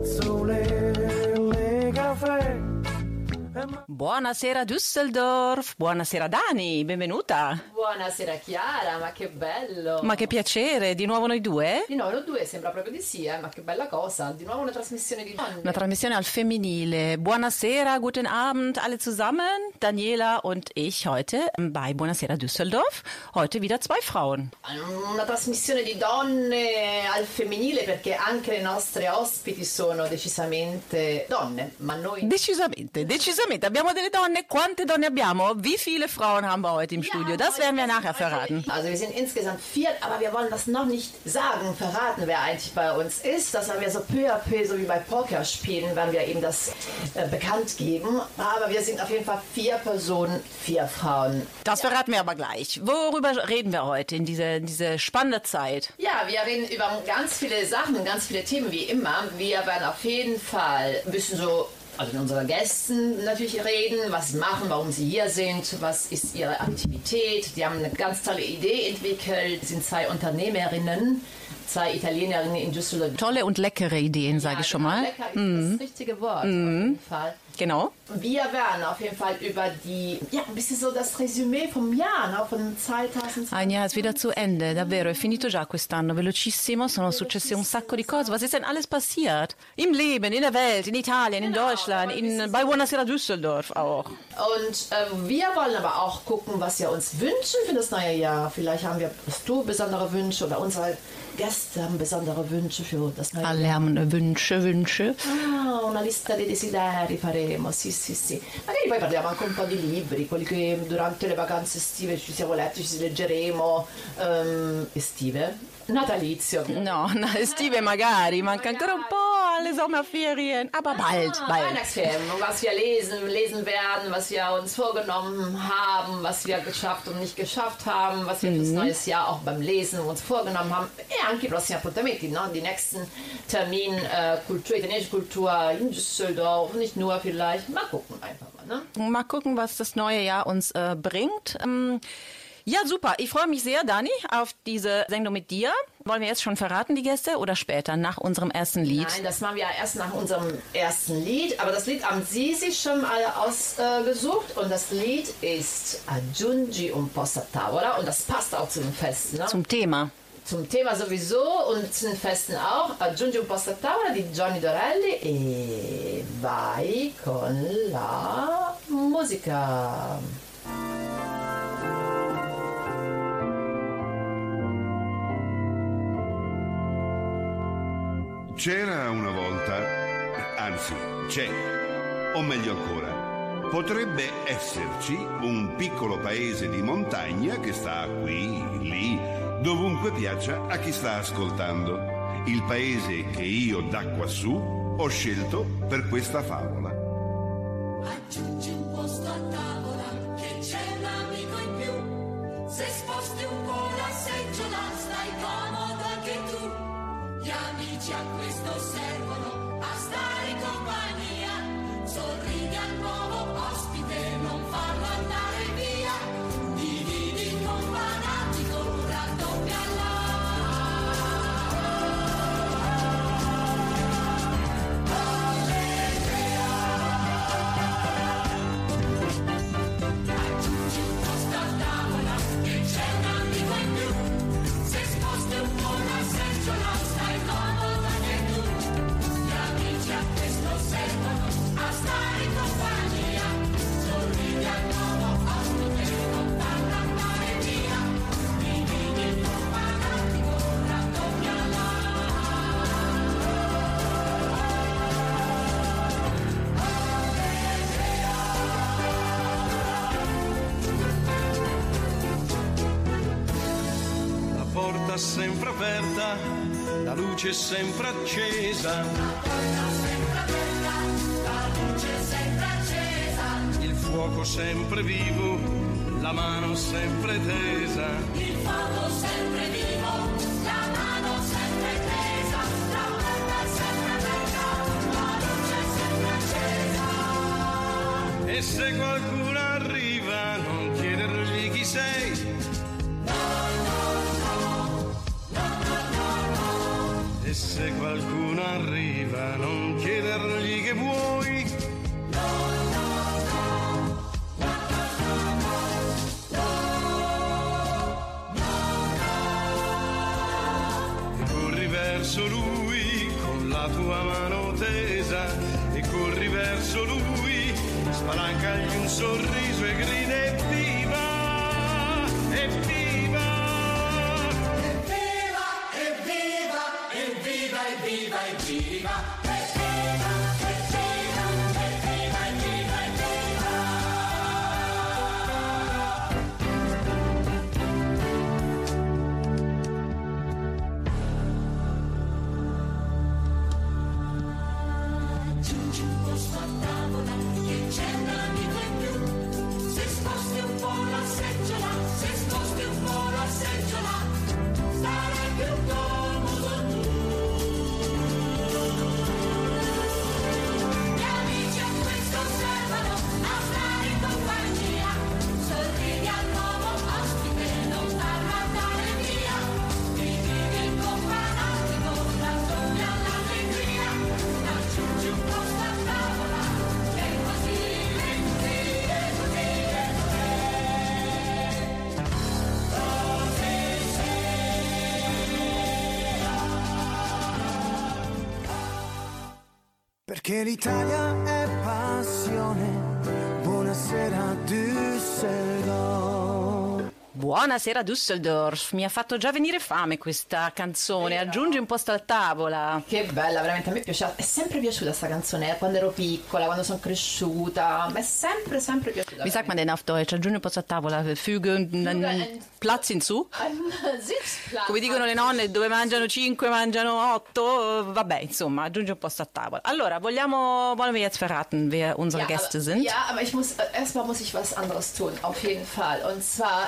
spazzole, le caffè. Buonasera Düsseldorf, buonasera Dani, benvenuta. Buonasera Chiara, ma che bello. Ma che piacere, di nuovo noi due? Di nuovo noi due, sembra proprio di sì, ma che bella cosa. Di nuovo una trasmissione di donne. Una trasmissione al femminile. Buonasera, guten Abend alle zusammen. Daniela und ich heute bei Buonasera Düsseldorf. Heute wieder zwei Frauen. Una trasmissione di donne al femminile perché anche le nostre ospiti sono decisamente donne, ma noi... Decisamente. Abbiamo delle Donne. Quante Donne abbiamo? Wie viele Frauen haben wir heute im Studio? Das werden wir nachher verraten. Also wir sind insgesamt 4, aber wir wollen das noch nicht verraten, wer eigentlich bei uns ist. Das haben wir so peu à peu, so wie bei Pokerspielen, werden wir eben das bekannt geben. Aber wir sind auf jeden Fall 4 Personen, 4 Frauen. Das verraten wir aber gleich. Worüber reden wir heute in diese spannende Zeit? Ja, wir reden über ganz viele Sachen, ganz viele Themen wie immer. Wir werden auf jeden Fall ein bisschen so... Also mit unseren Gästen natürlich reden, was sie machen, warum sie hier sind, was ist ihre Aktivität. Die haben eine ganz tolle Idee entwickelt, sind 2 Unternehmerinnen, 2 Italienerinnen in Düsseldorf. Tolle und leckere Ideen, sage ich schon mal. Lecker ist das richtige Wort auf jeden Fall. Genau. Wir werden auf jeden Fall über ein bisschen so das Resümee vom Jahr, no? Von 2020. Ein Jahr ist wieder zu Ende, davvero, è finito già quest'anno, velocissimo, sono successe un sacco di cose. Was ist denn alles passiert? Im Leben, in der Welt, in Italien, in Deutschland, bei Buonasera Düsseldorf auch. Und wir wollen aber auch gucken, was wir uns wünschen für das neue Jahr. Vielleicht hast du besondere Wünsche oder unsere Gäste haben besondere Wünsche für das neue Jahr. Alle haben Wünsche. Ah, una lista dei desideri faremo, sì. Magari poi parliamo anche un po' di libri, quelli che durante le vacanze estive ci siamo letti, ci leggeremo. Estive? Natalizio. No, estive magari, manca ancora un po' alle Sommerferien, aber bald. Weihnachtsferien, was wir lesen werden, was wir uns vorgenommen haben, was wir geschafft und nicht geschafft haben, was wir fürs neue Jahr auch beim Lesen uns vorgenommen haben. E anche i prossimi appuntamenti, no? Die nächsten Termin, italienische Kultur in Düsseldorf, nicht nur vielleicht. Mal gucken einfach mal, ne? Mal gucken, was das neue Jahr uns bringt. Ja, super. Ich freue mich sehr, Dani, auf diese Sendung mit dir. Wollen wir jetzt schon verraten, die Gäste, oder später, nach unserem ersten Lied? Nein, das machen wir erst nach unserem ersten Lied. Aber das Lied haben Sie sich schon alle ausgesucht. Und das Lied ist Aggiungi un po' sta tavola. Und das passt auch zu den Festen. Ne? Zum Thema. Zum Thema sowieso und zu den Festen auch. Aggiungi un po' sta tavola di Johnny Dorelli. E vai con la musica. C'era una volta, anzi c'è, o meglio ancora, potrebbe esserci un piccolo paese di montagna che sta qui, lì, dovunque piaccia a chi sta ascoltando. Il paese che io da quassù ho scelto per questa favola. Aggiungi un posto a tavola che c'è un amico in più. Se sposti un po' la seggiola stai comodo anche tu. Gli amici a questo servono a stare in compagnia. Sorridi al nuovo ospite, non farlo andare via. Dividi con fanatico, raddoppia aggiungi un posto a tavola che c'è un amico in più. Se sposti un po' la seggiola stai comodo anche tu. Gli amici a questo servono a stare in compagnia. Sorridi al nuovo ospite, non farlo andare via. Dividi con fanatico, raddoppia La porta sempre aperta, la luce sempre accesa, il fuoco sempre vivo, la mano sempre tesa. il fuoco sempre vivo, la mano sempre tesa, la porta sempre aperta, la luce sempre accesa. E se qualcuno arriva non chiedergli chi sei. E se qualcuno arriva non tesa e corri verso lui, spalancagli un sorriso e grida evviva, evviva. Evviva, evviva, evviva, evviva, evviva. Perché l'Italia è passione. Buonasera Düsseldorf. Buonasera Düsseldorf, mi ha fatto già venire fame questa canzone, aggiungi un posto a tavola. Che bella, veramente a me è sempre piaciuta questa canzone, quando ero piccola, quando sono cresciuta, mi è sempre piaciuta. Wie sagt man denn auf Deutsch? Aggiungi un posto a tavola, füge einen Platz hinzu? Sitzplatz. Come dicono le nonne, dove mangiano 5 mangiano 8, vabbè, insomma, aggiungi un posto a tavola. Allora, wollen wir jetzt verraten, wer unsere Gäste sind? Ja, aber erstmal muss ich was anderes tun, auf jeden Fall. Und zwar,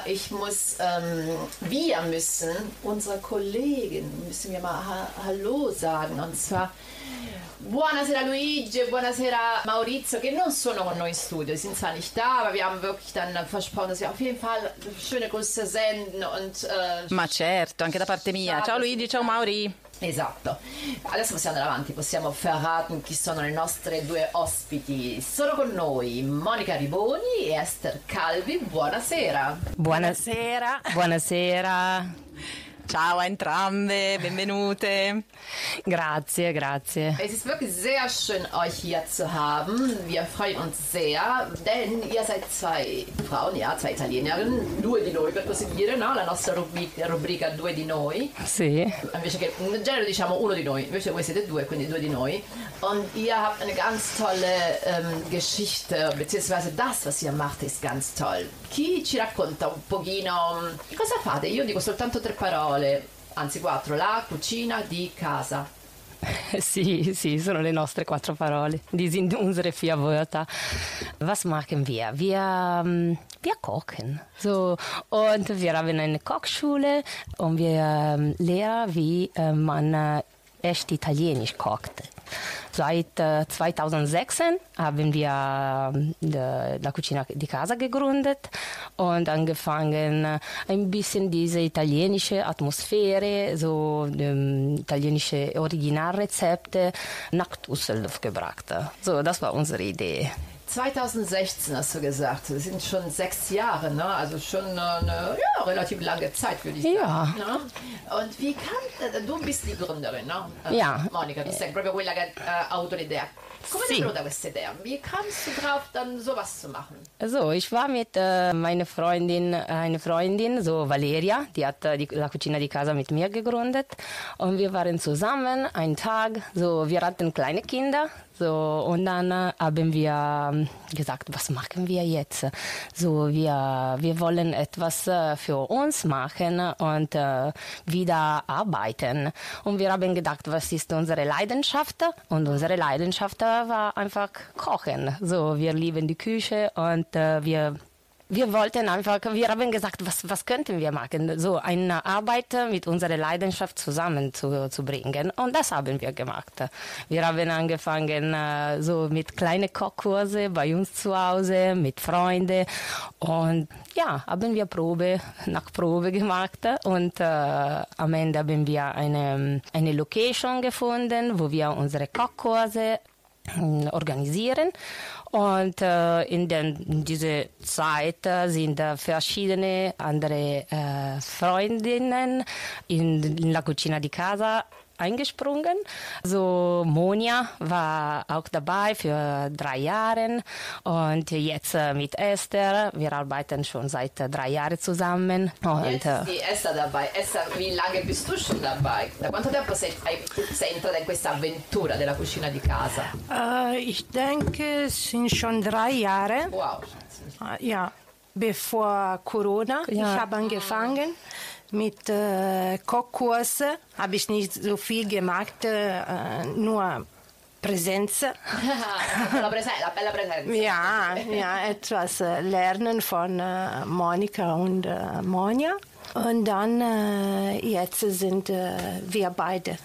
wir müssen unsere Kollegin, müssen wir mal Hallo sagen. Und zwar, buonasera Luigi, buonasera Maurizio, che non sono con noi in studio, die sind zwar nicht da, aber wir haben wirklich dann versprochen, dass wir auf jeden Fall schöne Grüße senden und... Ma certo, anche da parte mia. Ciao Luigi, ciao Mauri. Esatto, adesso possiamo andare avanti, possiamo verraten chi sono le nostre due ospiti. Sono con noi Monica Riboni e Esther Calvi, buonasera. Buonasera. Buonasera. Ciao a entrambe, benvenute. Grazie. Es ist wirklich sehr schön, euch hier zu haben. Wir freuen uns sehr, denn ihr seid zwei Frauen, zwei Italienerinnen, due di noi per così dire, no? La nostra rubrica due di noi. Sì. Invece che in genere diciamo uno di noi, invece voi siete due, quindi due di noi. Und ihr habt eine ganz tolle Geschichte, beziehungsweise das, was ihr macht, ist ganz toll. Chi ci racconta un pochino cosa fate? Io dico soltanto 3 parole, anzi 4, la cucina di casa. Sì, sono le nostre 4 Parole. Die sind unsere 4 Wörter. Was machen wir? Wir kochen. So, und wir haben eine Kochschule und wir lernen, wie man echt italienisch kocht. Seit 2006 haben wir la Cucina di Casa gegründet und angefangen, ein bisschen diese italienische Atmosphäre, so italienische Originalrezepte nach Düsseldorf gebracht. So, das war unsere Idee. 2016 hast du gesagt, das sind schon 6 Jahre, ne? Also schon eine relativ lange Zeit, würde ich sagen. Ja. Ne? Und wie du bist die Gründerin, ne? Ja. Monica, du sei proprio quella che ha avuto l'idea. Come è venuta questa Idee? Wie kamst du drauf, dann sowas zu machen? Also, ich war mit meiner Freundin, eine Freundin, so Valeria, die hat la Cucina di Casa mit mir gegründet. Und wir waren zusammen einen Tag, so, wir hatten kleine Kinder. So, und dann haben wir gesagt, was machen wir jetzt? So, wir wollen etwas für uns machen und wieder arbeiten. Und wir haben gedacht, was ist unsere Leidenschaft? Und unsere Leidenschaft war einfach Kochen. So, wir lieben die Küche und wir wollten einfach, wir haben gesagt, was könnten wir machen? So eine Arbeit mit unserer Leidenschaft zusammen zu bringen. Und das haben wir gemacht. Wir haben angefangen so mit kleinen Kochkurse bei uns zu Hause, mit Freunden. Und ja, haben wir Probe nach Probe gemacht. Und am Ende haben wir eine Location gefunden, wo wir unsere Kochkurse organisieren. Und in dieser Zeit sind verschiedene andere Freundinnen in La Cucina di Casa eingesprungen. So Monja war auch dabei für 3 Jahre und jetzt mit Esther. Wir arbeiten schon seit 3 Jahren zusammen. Und, Jetzt ist die Esther dabei. Esther, wie lange bist du schon dabei? Da quanto tempo sei entrata in questa avventura della cucina di casa? Ich denke, es sind schon 3 Jahre. Wow. Ja, bevor Corona. Ja. Ich habe angefangen mit Kochkurse. Habe ich nicht so viel gemacht, nur Präsenz. La bella presenza. Ja, etwas lernen von Monika und Monja. Und dann jetzt sind wir beide.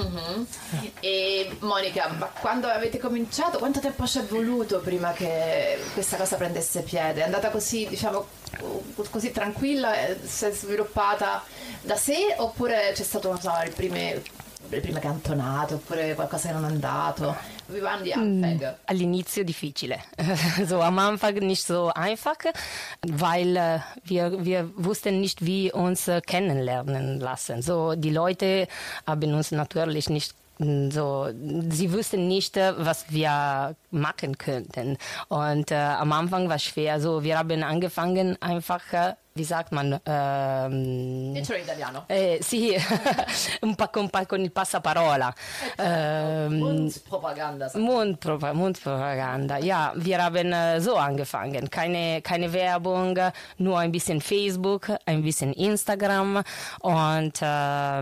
E Monica, ma quando avete cominciato, quanto tempo ci è voluto prima che questa cosa prendesse piede? È andata così, diciamo, così tranquilla, si è sviluppata da sé oppure c'è stato, non so, le prime cantonate oppure qualcosa che non è andato? Wie waren die Anfänge? All'inizio difficile. So am Anfang nicht so einfach, weil wir wussten nicht, wie uns kennenlernen lassen. So die Leute haben uns natürlich nicht so, sie wussten nicht, was wir machen könnten. Und am Anfang war es schwer. So, wir haben angefangen einfach, wie sagt man? Dicelo in italiano. Sì, un po' con il passaparola. Mundpropaganda. Mundpropaganda. Ja, wir haben so angefangen. Keine Werbung, nur ein bisschen Facebook, ein bisschen Instagram und ja,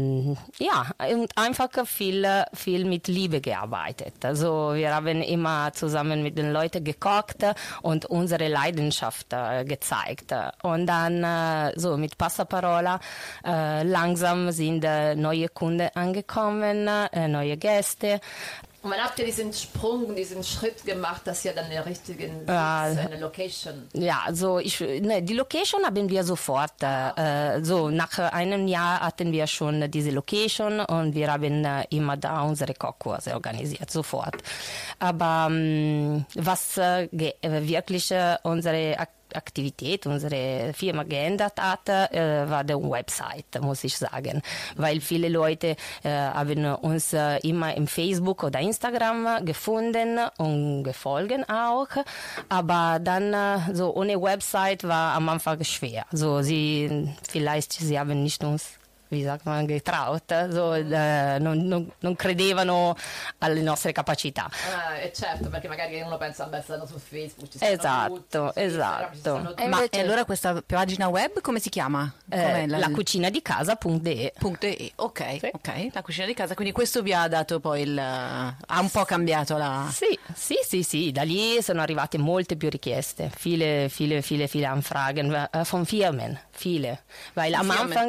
und einfach viel mit Liebe gearbeitet. Also wir haben immer zusammen mit den Leuten gekocht und unsere Leidenschaft gezeigt. Und dann so mit Passaparola langsam sind neue Kunden angekommen, neue Gäste. Und wann habt ihr diesen Schritt gemacht, dass ihr dann eine Location? Ja, also die Location haben wir sofort. So nach einem Jahr hatten wir schon diese Location und wir haben immer da unsere Kochkurse organisiert, sofort. Aber was wirklich unsere Aktivität, unsere Firma geändert hat, war die Website, muss ich sagen. Weil viele Leute haben uns immer im Facebook oder Instagram gefunden und gefolgt auch. Aber dann so ohne Website war am Anfang schwer. So sie haben nicht uns, wie sagt man, getraut, so, non credevano alle nostre capacità. Certo, perché magari uno pensa, beh, stanno su Facebook, ci Esatto. Ma e allora questa pagina web come si chiama? La cucina di casa.de. Ok, Sì. ok, la cucina di casa, quindi questo vi ha dato poi ha un po' cambiato la... Sì, da lì sono arrivate molte più richieste, viele Anfragen von Firmen, viele. Weil am Anfang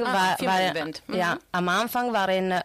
am Anfang waren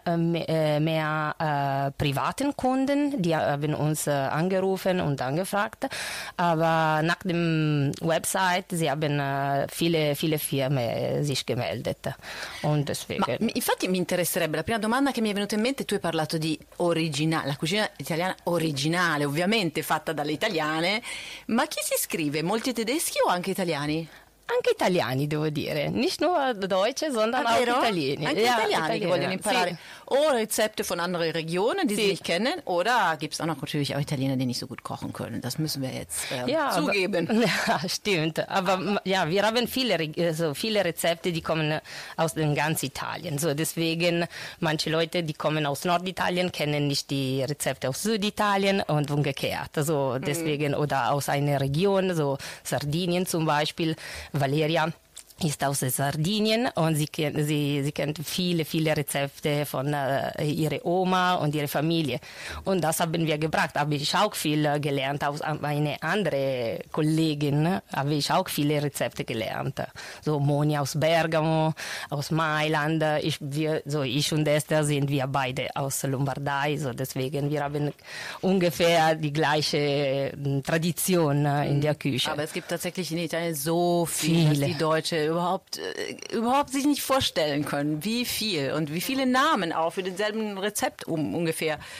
mehr privaten Kunden, die haben uns angerufen und angefragt, aber nach dem Website, sie haben viele Firmen sich gemeldet und deswegen. Ma infatti mi interesserebbe, la prima domanda che mi è venuta in mente, tu hai parlato di originale, la cucina italiana originale, ovviamente fatta dalle italiane, ma chi si iscrive? Molti tedeschi o anche italiani? Anche italiani, devo dire, nicht nur Deutsche, sondern auch Italieni. Anche Italiani che vogliono imparare o Rezepte von anderen Regionen, die sie nicht kennen, oder gibt es auch noch natürlich auch Italiener, die nicht so gut kochen können. Das müssen wir jetzt zugeben. Ja, stimmt. Aber ja, wir haben viele Rezepte, die kommen aus ganz Italien. So, deswegen, manche Leute, die kommen aus Norditalien, kennen nicht die Rezepte aus Süditalien und umgekehrt. So, deswegen, oder aus einer Region, so Sardinien zum Beispiel. Valeria ist aus Sardinien und sie kennt viele Rezepte von ihrer Oma und ihrer Familie. Und das haben wir gebracht. Habe ich auch viel gelernt. Aus einer anderen Kollegin habe ich auch viele Rezepte gelernt. So Monia aus Bergamo, aus Mailand. Ich und Esther sind wir beide aus Lombardei. So deswegen, wir haben ungefähr die gleiche Tradition in der Küche. Aber es gibt tatsächlich in Italien so viele, dass die Deutsche überhaupt sich nicht vorstellen können, wie viel und wie viele Namen auch für denselben Rezept ungefähr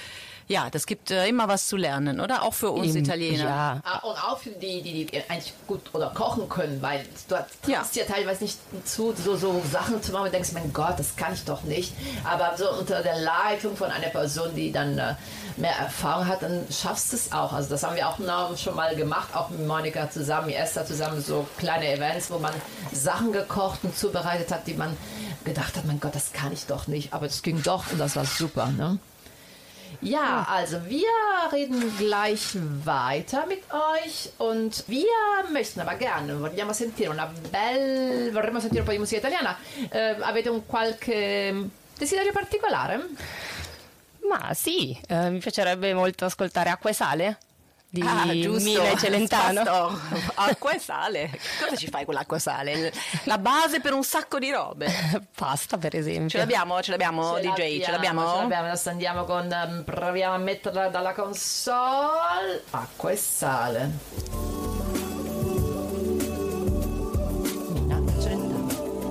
Ja, das gibt immer was zu lernen, oder? Auch für uns Italiener. Ja. Und auch für die eigentlich gut oder kochen können, weil du hast ja teilweise nicht zu, so Sachen zu machen und denkst, mein Gott, das kann ich doch nicht. Aber so unter der Leitung von einer Person, die dann mehr Erfahrung hat, dann schaffst du es auch. Also das haben wir auch schon mal gemacht, auch mit Monika zusammen, mit Esther zusammen, so kleine Events, wo man Sachen gekocht und zubereitet hat, die man gedacht hat, mein Gott, das kann ich doch nicht. Aber das ging doch und das war super, ne? Ja, also wir reden gleich weiter mit euch und wir möchten aber gerne, vorremmo sentire un po' di musica italiana. Avete un qualche desiderio particolare? Ma sì, mi piacerebbe molto ascoltare Acqua e Sale di giusto. Mina e Celentano. Acqua e sale. Cosa ci fai con l'acqua e sale? La base per un sacco di robe. Pasta, per esempio. Ce l'abbiamo DJ? Ce l'abbiamo? Adesso andiamo proviamo a metterla dalla console. Acqua e sale. Mina Celentano.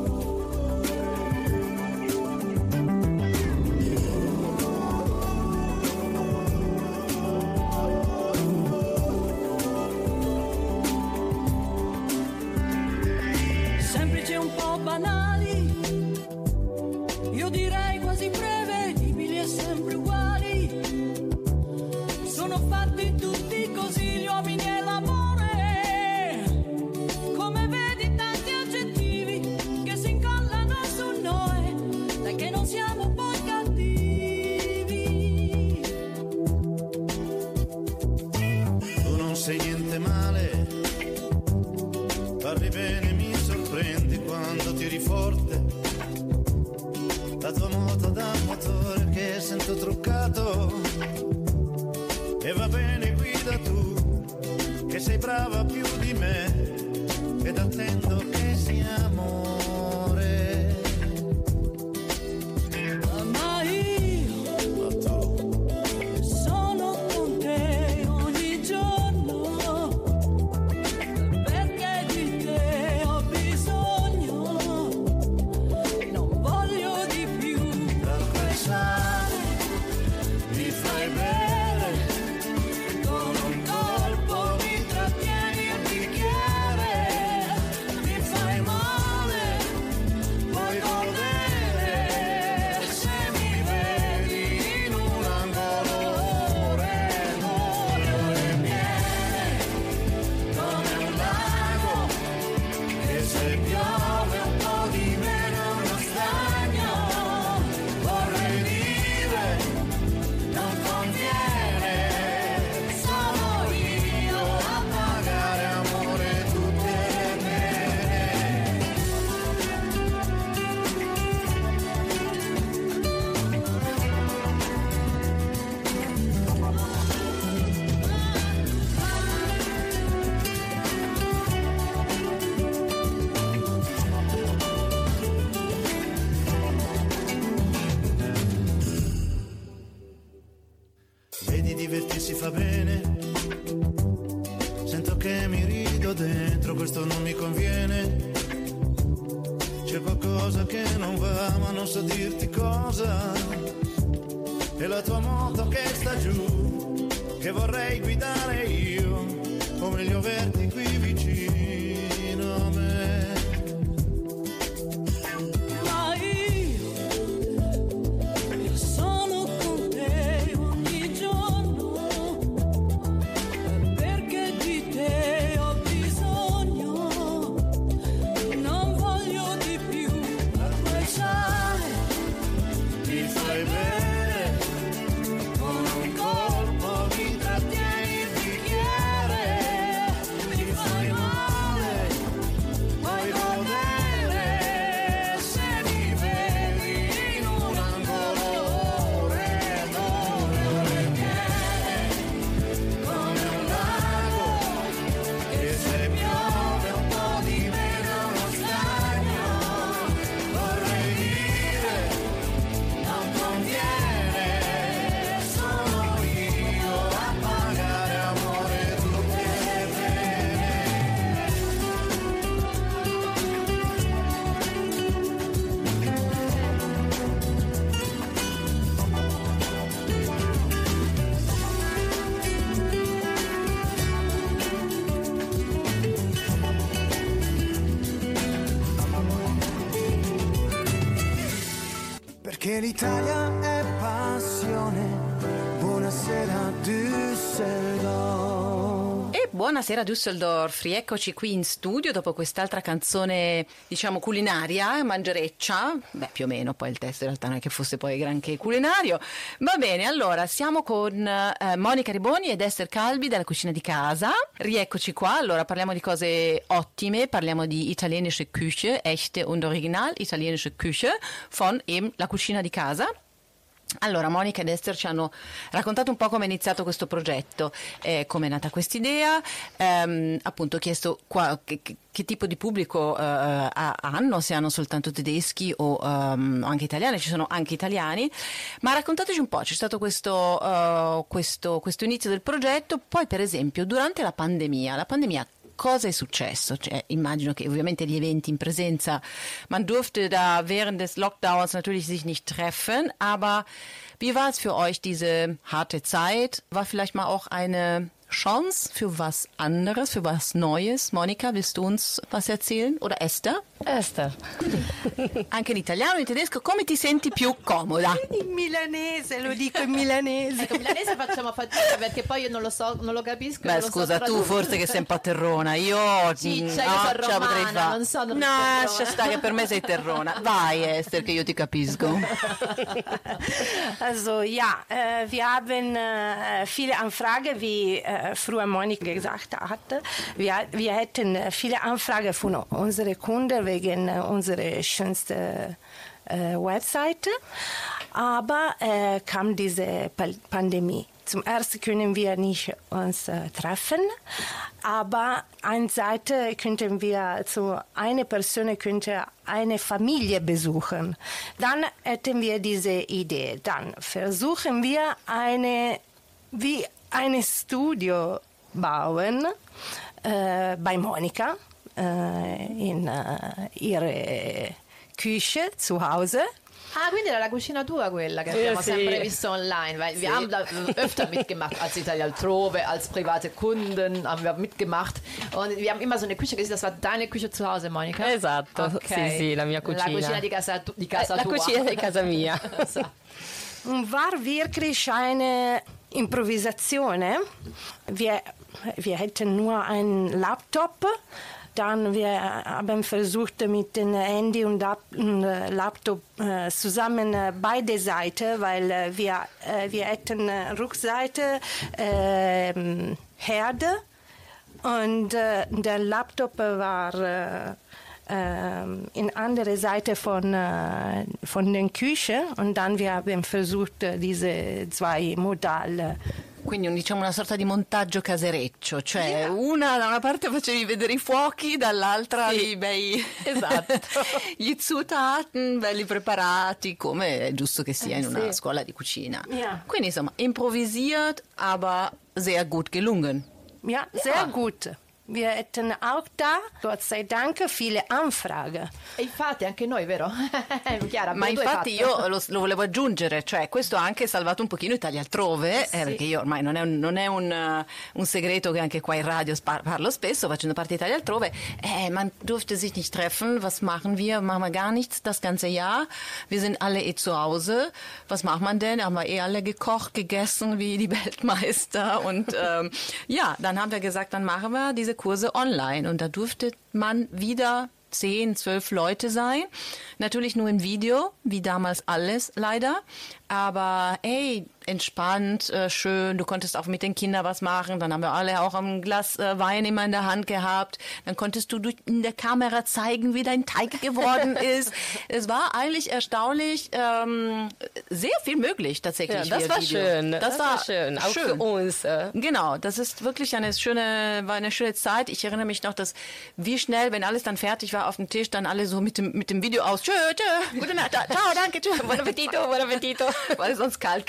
Semplici e un po' banali, io direi quasi prevedibili e sempre uguali. Sono fatti tutti così gli uomini e l'amore. Come vedi tanti aggettivi che si incollano su noi, dai che non siamo poi cattivi. Tu non sei niente male, parli bene, mi sorprendi quando tiri forte. La tua moto da motore che sento truccato. E va bene, guida tu, che sei brava più di me, ed attendo che sia amore. Ma io sono con te ogni giorno, perché di te ho bisogno, non voglio di più. L'acqua e sale, mi fai bere, con un colpo mi trattieni il bicchiere, mi fai male, puoi godere, se mi vedi in un angolo ore, ore piene, come un lago, che se piove un po' di meno è uno stagno, vorrei dire, non conviene, sono io a pagare amore tutte le pene. Vedi, divertirsi fa bene, sento che mi rido dentro, questo non mi conviene. C'è qualcosa che non va, ma non so dirti cosa. E la tua moto che sta giù, che vorrei guidare io, o meglio averti qui vicino a me. Ma io sono con te ogni giorno, perché di te ho bisogno, non voglio di più. Acqua e sale, Mi fai bere, con un colpo mi trattieni il bicchiere, mi fai perché l'Italia è passione. Buonasera Düsseldorf. E buonasera Düsseldorf, rieccoci qui in studio dopo quest'altra canzone, diciamo culinaria, mangereccia, beh più o meno, poi il testo in realtà non è che fosse poi granché culinario. Va bene, allora siamo con Monica Riboni ed Esther Calbi della Cucina di Casa, rieccoci qua, allora parliamo di cose ottime, parliamo di italienische Küche, echte und original italienische Küche von eben la Cucina di Casa. Allora, Monica ed Esther ci hanno raccontato un po' come è iniziato questo progetto, come è nata quest'idea, appunto ho chiesto che tipo di pubblico hanno, se hanno soltanto tedeschi o anche italiani, ci sono anche italiani, ma raccontateci un po', c'è stato questo inizio del progetto, poi per esempio durante la pandemia cosa è successo? Cioè, immagino che ovviamente gli eventi in presenza, man durfte da während des Lockdowns natürlich sich nicht treffen, aber wie war es für euch diese harte Zeit? War vielleicht mal auch eine Chance für was anderes, für was Neues? Monica, willst du uns was erzählen? Oder Esther? Esther. Anche in italiano, in tedesco, come ti senti più comoda? In milanese, lo dico in milanese. Ecco, milanese facciamo fatica perché poi io non lo so, non lo capisco. Beh, non lo scusa, so tu forse che sei un po' terrona. Io Ciccia, no, io sono ce la potrei romana, fare. non sono No, lascia stare, che per me sei terrona. Vai, Esther, che io ti capisco. Also ja, wir haben viele Anfragen, wie früher Monika gesagt hatte. Wir hätten viele Anfragen von unseren Kunden wegen unserer schönsten Webseite. Aber kam diese Pandemie. Zum ersten können wir nicht uns treffen, aber eine Seite könnten wir zu einer Person könnte eine Familie besuchen. Dann hätten wir diese Idee. Dann versuchen wir ein Studio bauen bei Monika in ihre Küche zu Hause. Ah, quindi era la cucina tua quella che abbiamo sempre visto online, weil wir haben da öfter mitgemacht als Italia altrove, als private Kunden haben wir mitgemacht und wir haben immer so eine Küche gesehen, das war deine Küche zu Hause, Monica? Esatto, okay. Sì, la mia cucina. La cucina di casa tua. La cucina di casa mia. War wirklich eine Improvisation. Wir hätten nur einen Laptop. Dann wir haben versucht mit dem Handy und Laptop zusammen beide Seiten, weil wir hätten Rückseite Herde und der Laptop war in andere Seite von der Küche und dann wir haben versucht diese zwei Modelle. Quindi diciamo una sorta di montaggio casereccio, cioè una da una parte facevi vedere i fuochi, dall'altra i bei esatto. gli Zutaten belli preparati, come è giusto che sia in una scuola di cucina. Ja. Quindi insomma improvisiert, aber sehr gut gelungen. Ja, sehr gut. Wir hätten auch da, Gott sei Dank, viele Anfragen. E infatti anche noi, vero? Chiara, ma infatti io lo volevo aggiungere, cioè questo ha anche salvato un pochino Italia altrove, perché io ormai non è un segreto che anche qua in radio parlo spesso, facendo parte di Italia altrove, man durfte sich nicht treffen, was machen wir gar nichts das ganze Jahr, wir sind alle zu Hause, was macht man denn, haben wir alle gekocht, gegessen wie die Weltmeister und dann haben wir gesagt, dann machen wir diese Kurse online und da durfte man wieder 10, 12 Leute sein. Natürlich nur im Video, wie damals alles leider. Aber entspannt, schön, du konntest auch mit den Kindern was machen. Dann haben wir alle auch ein Glas Wein immer in der Hand gehabt. Dann konntest du in der Kamera zeigen, wie dein Teig geworden ist. Es war eigentlich erstaunlich, sehr viel möglich tatsächlich. Ja, das war Video. Schön. Das war schön, auch schön. für uns. Genau, das ist wirklich eine schöne Zeit. Ich erinnere mich noch, dass wie schnell, wenn alles dann fertig war auf dem Tisch, dann alle so mit dem Video aus. Tschö, gute Nacht, ciao, danke, tschö. Buon appetito, buon appetito. Weil es sonst kalt geworden ist.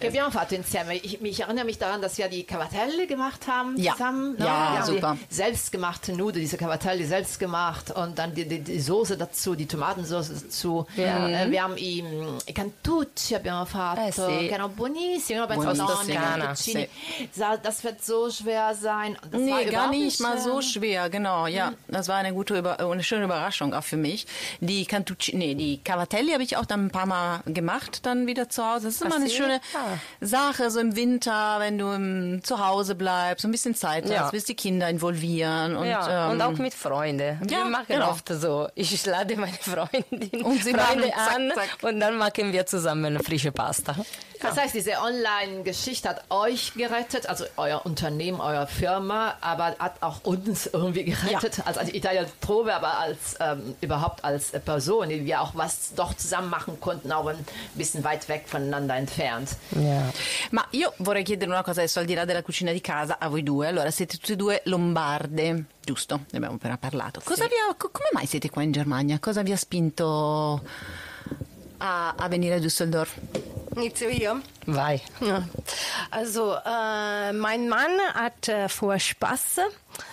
abbiamo fatto insieme. Ich erinnere mich daran, dass wir die Cavatelli gemacht haben zusammen. Ne? Ja, super. Die selbstgemachte Nudeln, diese Cavatelli selbst gemacht und dann die Soße dazu, die Tomatensauce dazu. Wir haben i Cantucci abbiamo fatto, che erano buonissimi. No, penso Toskana. Sì. Das wird so schwer sein. Das Nee, war gar überhaupt nicht mal so schwer, genau, ja. Das war eine schöne Überraschung auch für mich. Die Cavatelli habe ich auch dann ein paar Mal gemacht, dann wieder zu Hause. Das ist immer eine schöne Sache, so im Winter, wenn du zu Hause bleibst, so ein bisschen Zeit hast, willst die Kinder involvieren. Und, und auch mit Freunden. Wir machen oft so, ich lade meine Freundin und sie Freunde machen, an und dann machen wir zusammen frische Pasta. Das heißt, diese Online-Geschichte hat euch gerettet, also euer Unternehmen, eure Firma, aber hat auch uns irgendwie gerettet, als Italia Trove, aber als überhaupt als Person, die wir auch was doch zusammen machen konnten, auch ein bisschen weit weg voneinander entfernt. Ja. Ma io vorrei chiedere una cosa adesso, al di là della cucina di casa, a voi due. Allora, siete tutte e due lombarde, giusto? Ne abbiamo appena parlato. Come mai siete qua in Germania? Cosa vi ha spinto a venire a Düsseldorf? Nicht wir. Vai. Ja. Also mein Mann hat vor Spaß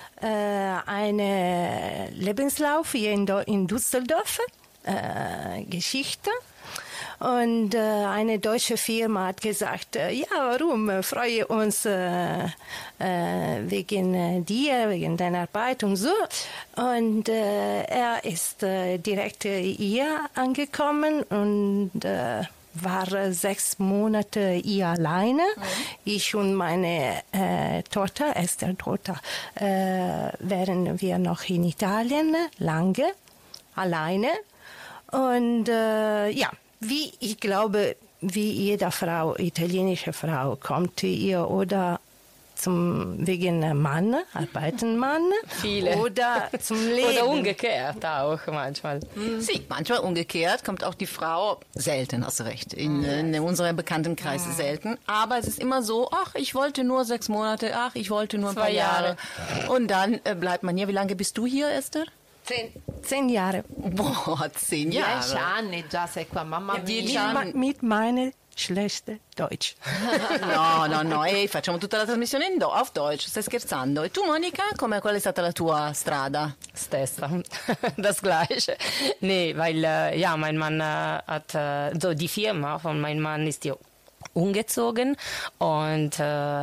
einen Lebenslauf hier in Düsseldorf, Geschichte. Und eine deutsche Firma hat gesagt, ja, warum? Freue uns wegen dir, wegen deiner Arbeit und so. Und er ist direkt hier angekommen und war 6 Monate hier alleine. Ich und meine Tochter, Esther-Tochter, wären wir noch in Italien, lange, alleine. Und ich glaube, wie jede Frau, italienische Frau, kommt hier oder wegen Mann, arbeiten Mann. Viele. Oder zum Leben. Oder umgekehrt auch manchmal. Sì, manchmal umgekehrt kommt auch die Frau, selten, hast du recht, in unserem Bekanntenkreis selten, aber es ist immer so, ach, ich wollte nur 6 Monate, ach, ich wollte nur ein paar Jahre. Und dann bleibt man hier. Wie lange bist du hier, Esther? 10 Jahre. Boah, 10 Jahre. 10 anni già sei qua, mamma mia. Mit meiner schlechten Deutsch. No, facciamo tutta la trasmissione auf Deutsch, stai scherzando. E tu, Monica, qual è stata la tua strada? Stessa, das Gleiche. Nee, weil mein Mann hat, die Firma von meinem Mann ist hier umgezogen und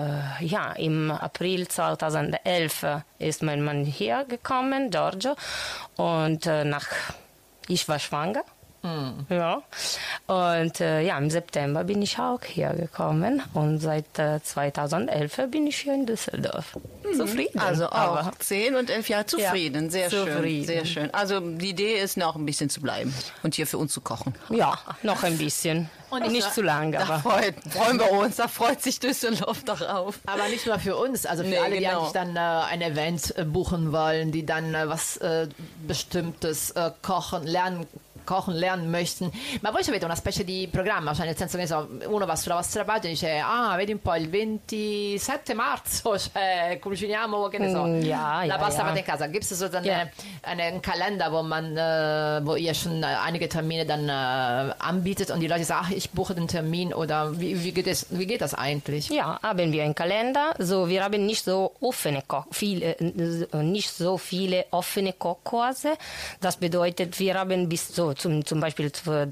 im April 2011 ist mein Mann hier gekommen, Giorgio, und ich war schwanger. Ja. Und im September bin ich auch hier gekommen und seit 2011 bin ich hier in Düsseldorf. Zufrieden. Also auch 10 und 11 Jahre zufrieden. Ja, sehr schön. Sehr schön. Also die Idee ist noch ein bisschen zu bleiben und hier für uns zu kochen. Ja, noch ein bisschen. Und nicht zu lange. Da freuen wir uns, da freut sich Düsseldorf darauf. Aber nicht nur für uns, also für alle, die eigentlich dann ein Event buchen wollen, die dann was Bestimmtes kochen lernen möchten. Ma voi avete una specie di programma, cioè nel senso che uno va sulla vostra pagina e dice vedi un po' il 27 marzo cioè, cuciniamo, che ne so, la pasta fatta in casa. Gibt es so einen Kalender, wo ihr schon einige Termine dann anbietet und die Leute sagen, ach, ich buche den Termin, oder wie geht das eigentlich? Ja, haben wir einen Kalender. So, wir haben nicht so viele offene Kochkurse. Das bedeutet, wir haben bis so zum Beispiel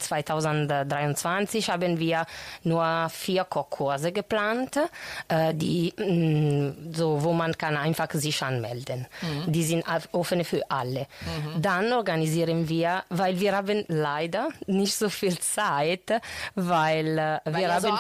2023 haben wir nur 4 Kochkurse geplant, wo man kann einfach sich anmelden. Die sind offen für alle. Dann organisieren wir, weil wir haben leider nicht so viel Zeit, weil wir haben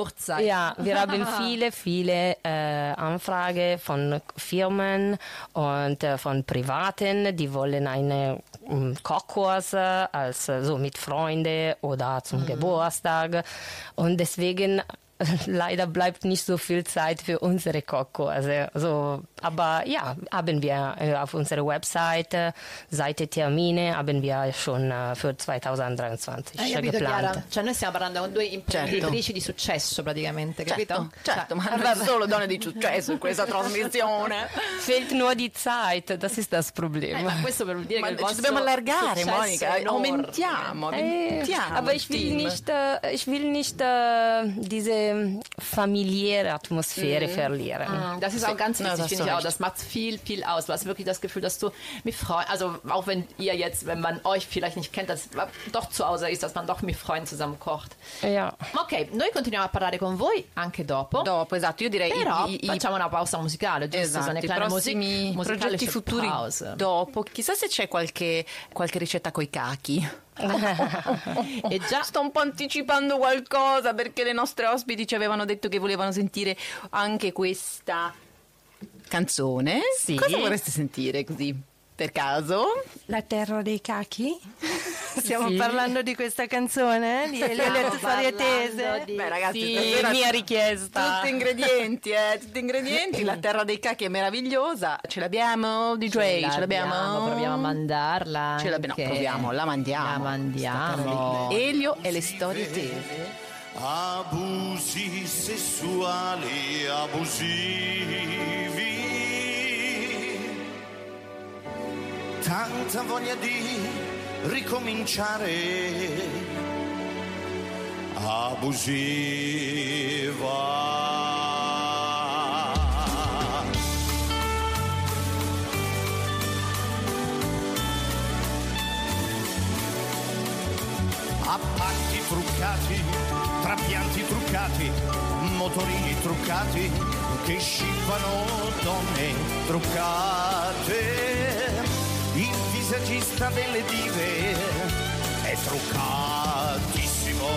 viele Anfragen von Firmen und von Privaten, die wollen eine Kochkurs so mit Freunden oder zum Geburtstag, und deswegen leider bleibt nicht so viel Zeit für unsere Kochkurse. So, aber ja, haben wir auf unserer Website, Seite Termine, haben wir schon für 2023 geplant. Cioè noi stiamo parlando con 2 imprenditrici di successo praticamente, capito? Certo, ma non solo donne di successo in questa trasmissione. Fehlt nur die Zeit, das ist das Problem. Ma questo per dire che il vostro dobbiamo allargare, Monica, enorme. aumentiamo. Aber ich will nicht diese diese familiäre Atmosphäre verlieren. Das ist auch ganz wichtig, finde ich auch. Das macht viel, viel aus. Du hast wirklich das Gefühl, dass du mit Freunden, also auch wenn ihr jetzt, wenn man euch vielleicht nicht kennt, dass doch zu Hause ist, dass man doch mit Freunden zusammen kocht. Ja. Ok, noi continuiamo a parlare con voi anche dopo. Dopo, esatto, io direi Però facciamo una pausa musicale, giusto? Esatto, Sono i prossimi progetti futuri dopo. Chissà se c'è qualche ricetta coi cachi. E già sto un po' anticipando qualcosa perché le nostre ospiti ci avevano detto che volevano sentire anche questa canzone. Sì. Cosa vorreste sentire così per caso? La terra dei cachi? Stiamo parlando di questa canzone di Elio e le storie tese. Beh ragazzi, Sì, stasera mia richiesta. tutti ingredienti, la terra dei cachi è meravigliosa. Ce l'abbiamo DJ? Ce l'abbiamo? Proviamo a mandarla. Ce l'abbiamo, no, proviamo, la mandiamo. La mandiamo. Elio e le storie tese. Abusi sessuali abusivi, tanta voglia di ricominciare, abusiva. Appalti truccati, trapianti truccati, motorini truccati, che scippano donne truccate. Il visagista delle dive è truccatissimo.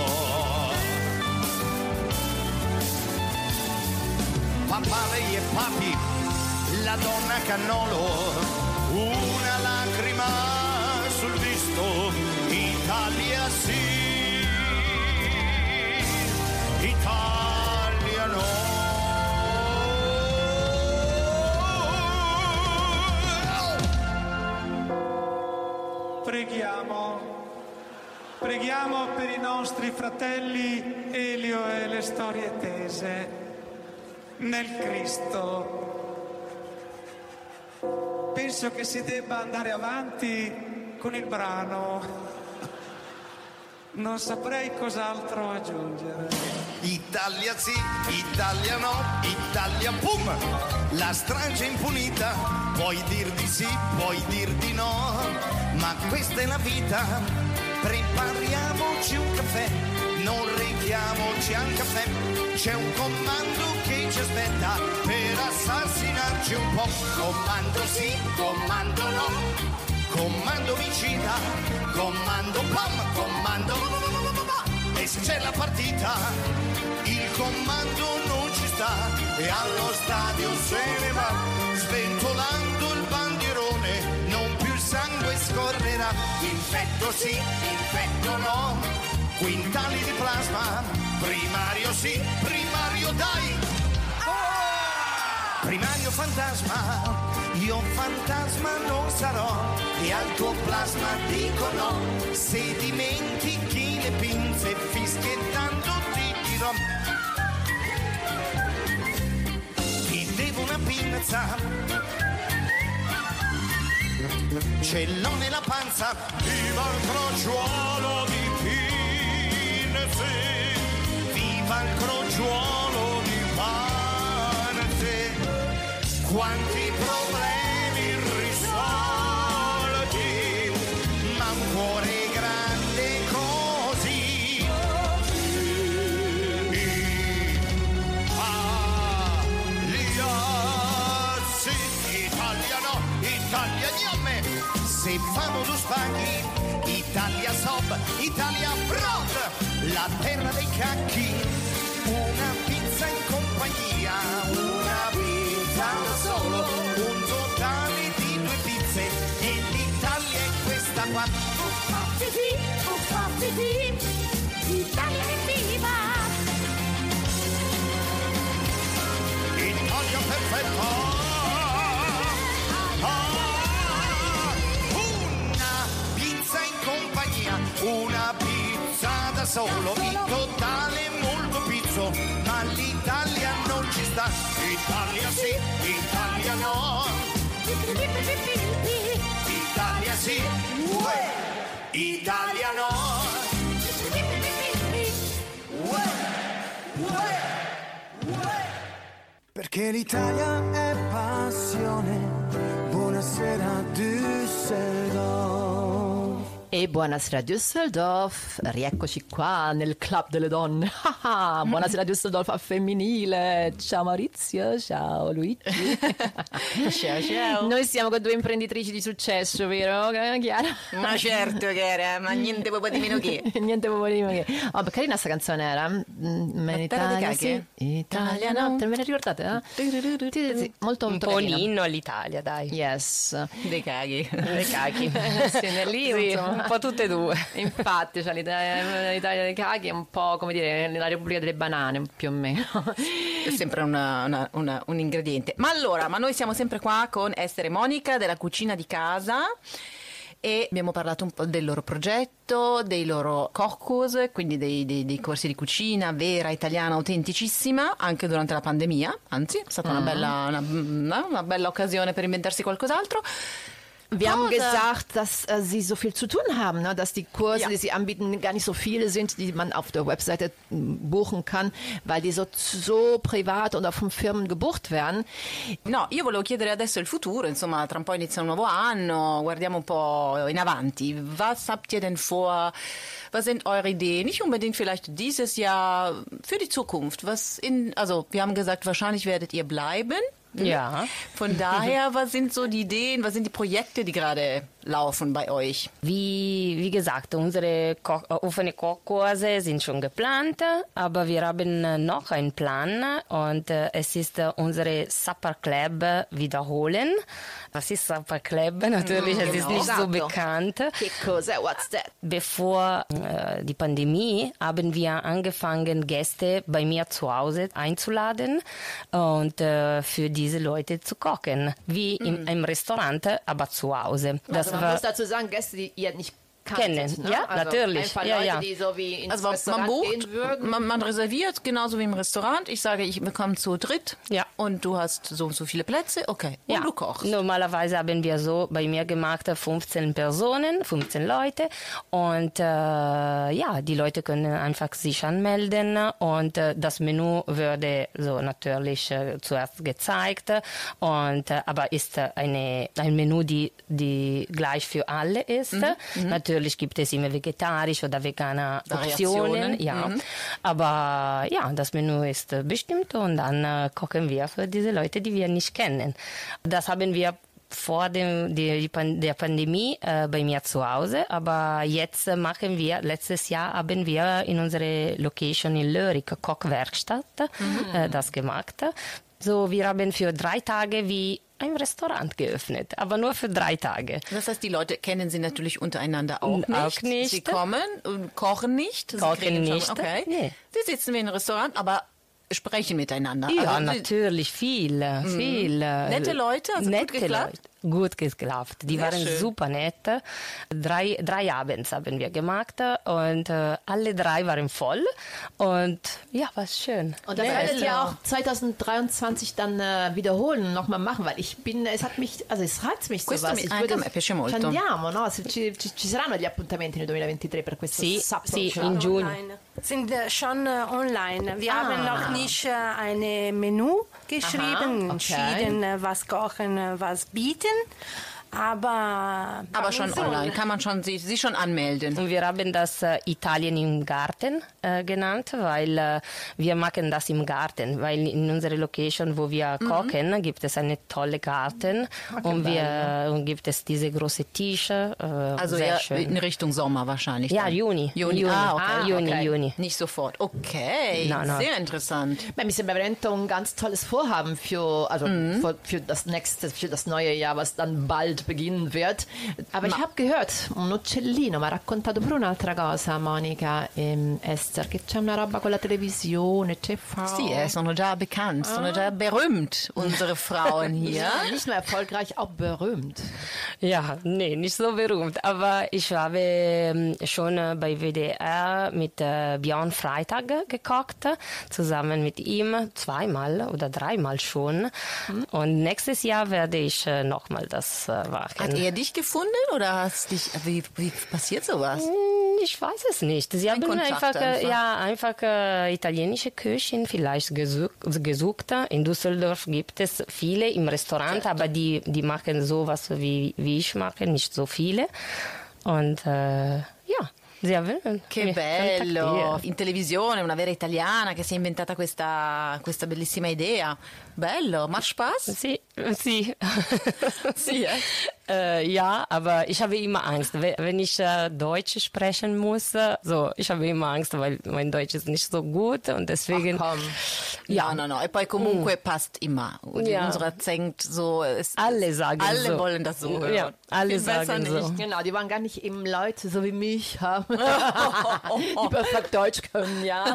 Papalei e papi, la donna cannolo, una lacrima sul visto. Italia sì, Italia no. Preghiamo per i nostri fratelli Elio e le storie tese nel Cristo. Penso che si debba andare avanti con il brano. Non saprei cos'altro aggiungere. Italia sì, Italia no, Italia pum, la strage impunita, puoi dir di sì, puoi dir di no, ma questa è la vita, prepariamoci un caffè, non reghiamoci al caffè, c'è un comando che ci aspetta per assassinarci un po', comando sì, comando no, comando omicida, comando pom, comando. E se c'è la partita, il comando non ci sta e allo stadio se ne va, sventolando il bandierone, non più il sangue scorrerà. Infetto sì, infetto no, quintali di plasma, primario sì, primario dai. Primario fantasma, io fantasma non sarò e al tuo plasma dico no, se dimentichi le pinze fischiettando ti dirò. Ti devo una pinza, ce l'ho nella panza, viva il crogiuolo di pinze, viva il crogiuolo di panze, quanti problemi irrisolti, ma un cuore grande così. Italia no, Italia gnomme, se famo due spaghi, Italia sob, Italia brot, la terra dei cacchi, una pizza in compagnia, una pizza da solo, un totale di 2 pizze e l'Italia è questa qua. Italia è viva! Italia perfetta! Una pizza in compagnia, una pizza da solo, il totale è molto pizzo, ma l'Italia non ci sta. Italia sì, Italia no. Italia sì, Italia no. Perché l'Italia è passione. Buonasera Düsseldorf. E buonasera Düsseldorf, rieccoci qua nel Club delle Donne. Buonasera Düsseldorf a femminile. Ciao Maurizio, ciao Luigi. Ciao. Noi siamo con due imprenditrici di successo, vero Chiara? Ma certo che era, ma niente proprio di meno che. Niente proprio di meno che. Oh, carina sta canzone era. Italia, sì. Italia, no? Te me ne ricordate? Sì, molto Un molto po' carina. l'inno all'Italia, dai. Yes. Dei caghi. Le cacchi. Sì, lì, Sì, insomma. un po' tutte e due. Infatti, cioè, l'Italia dei caghi è un po' come dire la Repubblica delle Banane, più o meno. È sempre un ingrediente. Ma allora, noi siamo sempre qua con Esther e Monica della Cucina di Casa e abbiamo parlato un po' del loro progetto, dei loro Kochkurs, quindi dei corsi di cucina vera, italiana, autenticissima, anche durante la pandemia, anzi è stata una bella occasione per inventarsi qualcos'altro. Wir haben gesagt, dass Sie so viel zu tun haben, ne? Dass die Kurse, die Sie anbieten, gar nicht so viele sind, die man auf der Webseite buchen kann, weil die so privat und auch von Firmen gebucht werden. No, io volevo chiedere adesso il futuro, insomma, tra un po' inizia un nuovo anno, guardiamo un po' in avanti. Was habt ihr denn vor? Was sind eure Ideen? Nicht unbedingt vielleicht dieses Jahr, für die Zukunft. Also, wir haben gesagt, wahrscheinlich werdet ihr bleiben. Ja. Von daher, was sind so die Ideen, was sind die Projekte, die gerade laufen bei euch? Wie gesagt, unsere offene Kochkurse sind schon geplant, aber wir haben noch einen Plan und es ist unsere Supper Club wiederholen. Was ist Supper Club? Natürlich, es ist nicht so bekannt. Che cos'è? What's that? Bevor die Pandemie haben wir angefangen, Gäste bei mir zu Hause einzuladen und für diese Leute zu kochen, wie im Restaurant, aber zu Hause. Das Man war muss dazu sagen, Gäste, die ihr nicht kennen. kanntet, ne? Ja, also natürlich. Einfach Ja, Leute, ja. die so wie ins Also man Restaurant bucht, gehen würden. man reserviert, genauso wie im Restaurant. Ich sage, wir kommen zu dritt Ja. und du hast so und so viele Plätze, okay. Und Ja, du kochst. normalerweise haben wir so bei mir gemacht 15 Personen, 15 Leute und die Leute können einfach sich anmelden und das Menü würde so natürlich zuerst gezeigt und aber ist ein Menü, die gleich für alle ist. Natürlich gibt es immer vegetarisch oder vegane Optionen, Variationen. ja. Aber ja, das Menü ist bestimmt und dann kochen wir für diese Leute, die wir nicht kennen. Das haben wir vor der Pandemie bei mir zu Hause, aber jetzt letztes Jahr haben wir in unserer Location in Lörik Kochwerkstatt das gemacht. So, wir haben für 3 Tage wie ein Restaurant geöffnet, aber nur für 3 Tage. Das heißt, die Leute kennen sie natürlich untereinander auch nicht. Auch nicht. Sie kommen und kochen nicht. Kochen nicht. Okay. Nee. Sie sitzen wie in einem Restaurant, aber sprechen miteinander. Ja, Also, natürlich, viel. Nette Leute, also gut geklappt? Leute. Gut geklappt. Die Sehr waren schön. super nett. 3 Abends haben wir gemacht und alle 3 waren voll und ja, war schön. Und das werdet ihr auch 2023 dann wiederholen und nochmal machen, weil es reizt mich Questo sowas. anche a me piace molto. Ci andiamo, no? Ci saranno gli appuntamenti nel 2023 per questo Sì, Supper sì, Club? in giugno. Online. Sind schon online. Wir haben noch nicht ein Menü geschrieben, Aha, okay. entschieden, was kochen, was bieten. Aber schon online. Kann man schon sie schon anmelden. Und wir haben das Italien im Garten genannt, weil wir machen das im Garten, weil in unserer Location, wo wir kochen, gibt es eine tolle Garten und gibt es diese große Tische. Also sehr eher schön. in Richtung Sommer wahrscheinlich. Ja, dann. Juni. Juni. Okay. Juni. Nicht sofort. Okay, No, no. sehr interessant. Beh, mi sembra veramente un ganz tolles Vorhaben für das neue Jahr, was dann bald beginnen wird. Aber ich habe gehört, un uccellino mi ha raccontato pure un'altra cosa, Monica e Esther, che c'è una roba con la televisione, TV. Sie sono già bekannt, sono già berühmt, unsere Frauen hier. Ja, nicht nur erfolgreich, auch berühmt. Ja, nee, nicht so berühmt. Aber ich habe schon bei WDR mit Björn Freitag gekocht, zusammen mit ihm 2-mal oder 3-mal schon. Und nächstes Jahr werde ich nochmal das machen. Hat er dich gefunden oder hast dich, wie passiert sowas? Ich weiß es nicht. Sie haben einfach italienische Köchin vielleicht gesucht. In Düsseldorf gibt es viele im Restaurant, aber die machen sowas wie ich mache, nicht so viele. Und che bello, in televisione una vera italiana che si è inventata questa bellissima idea. Bello, macht Spaß? Sie. Ja, aber ich habe immer Angst, wenn ich Deutsch sprechen muss. Ich habe immer Angst, weil mein Deutsch ist nicht so gut und deswegen. Ach, komm. Ja, no. E poi comunque passt immer. Unser Akzent so ist. Alle sagen alle so. Wollen das so hören. Ja, alle sagen so. Nicht. Genau, die wollen gar nicht eben Leute so wie mich haben, die perfekt Deutsch können, ja.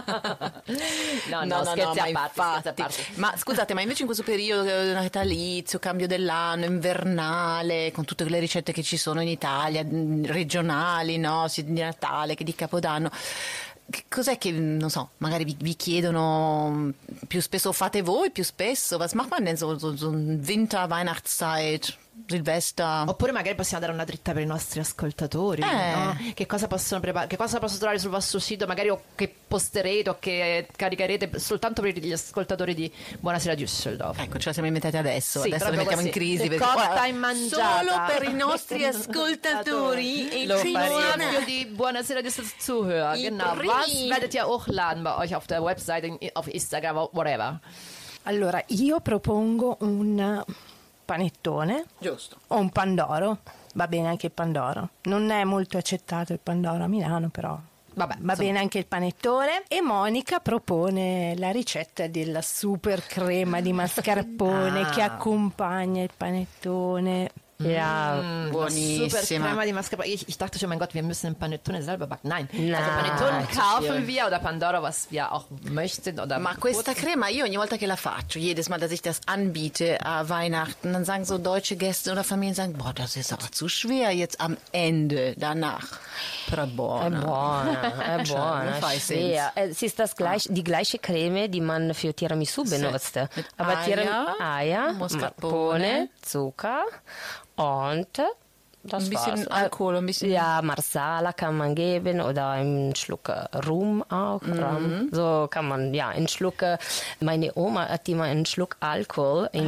No, scherzi a parte. Ma scusate, ma invece in questo periodo natalizio, cambio dell'anno, invernale, con tutte le ricette che ci sono in Italia, regionali, no? Sia di Natale che di Capodanno, cos'è che, non so, magari vi chiedono più spesso, fate voi più spesso? Was macht man denn so Winter, Weihnachtszeit, Silvester? Oppure magari possiamo dare una dritta per i nostri ascoltatori, no? Che cosa possono preparare, che cosa possono trovare sul vostro sito, magari o che posterete o che caricherete soltanto per gli ascoltatori di Buonasera Düsseldorf. Ecco, ce la siamo inventati adesso Sì, la mettiamo in crisi perché cotta e mangiata solo per i nostri ascoltatori e die Buonasera Düsseldorf Zuhörer. Genau, was werdet ihr hochladen bei euch auf der Webseite, auf Instagram, whatever? Allora, io propongo un panettone. Giusto. O un pandoro. Va bene anche il pandoro. Non è molto accettato il pandoro a Milano, però vabbè, va bene anche il panettone. E Monica propone la ricetta della super crema di mascarpone che accompagna il panettone. Ja, buonissima. Super Crema di mascarpone. Ich dachte schon, mein Gott, wir müssen den Panettone selber backen. Nein. Also Panettone kaufen wir oder Pandoro, was wir auch möchten. Oder ma questa crema, io ogni volta che la faccio, jedes Mal, dass ich das anbiete a Weihnachten, dann sagen so deutsche Gäste oder Familien, sagen, boah, das ist aber zu schwer jetzt am Ende, danach. Però è buona. È buona. Es ist die gleiche Creme, die man für Tiramisu benutzt. Mit Aber Eier, Mascarpone, Zucker und das ein bisschen war's. Alkohol, ein bisschen. Ja, Marsala kann man geben oder einen Schluck Rum auch. So kann man, einen Schluck. Meine Oma hat immer einen Schluck Alkohol in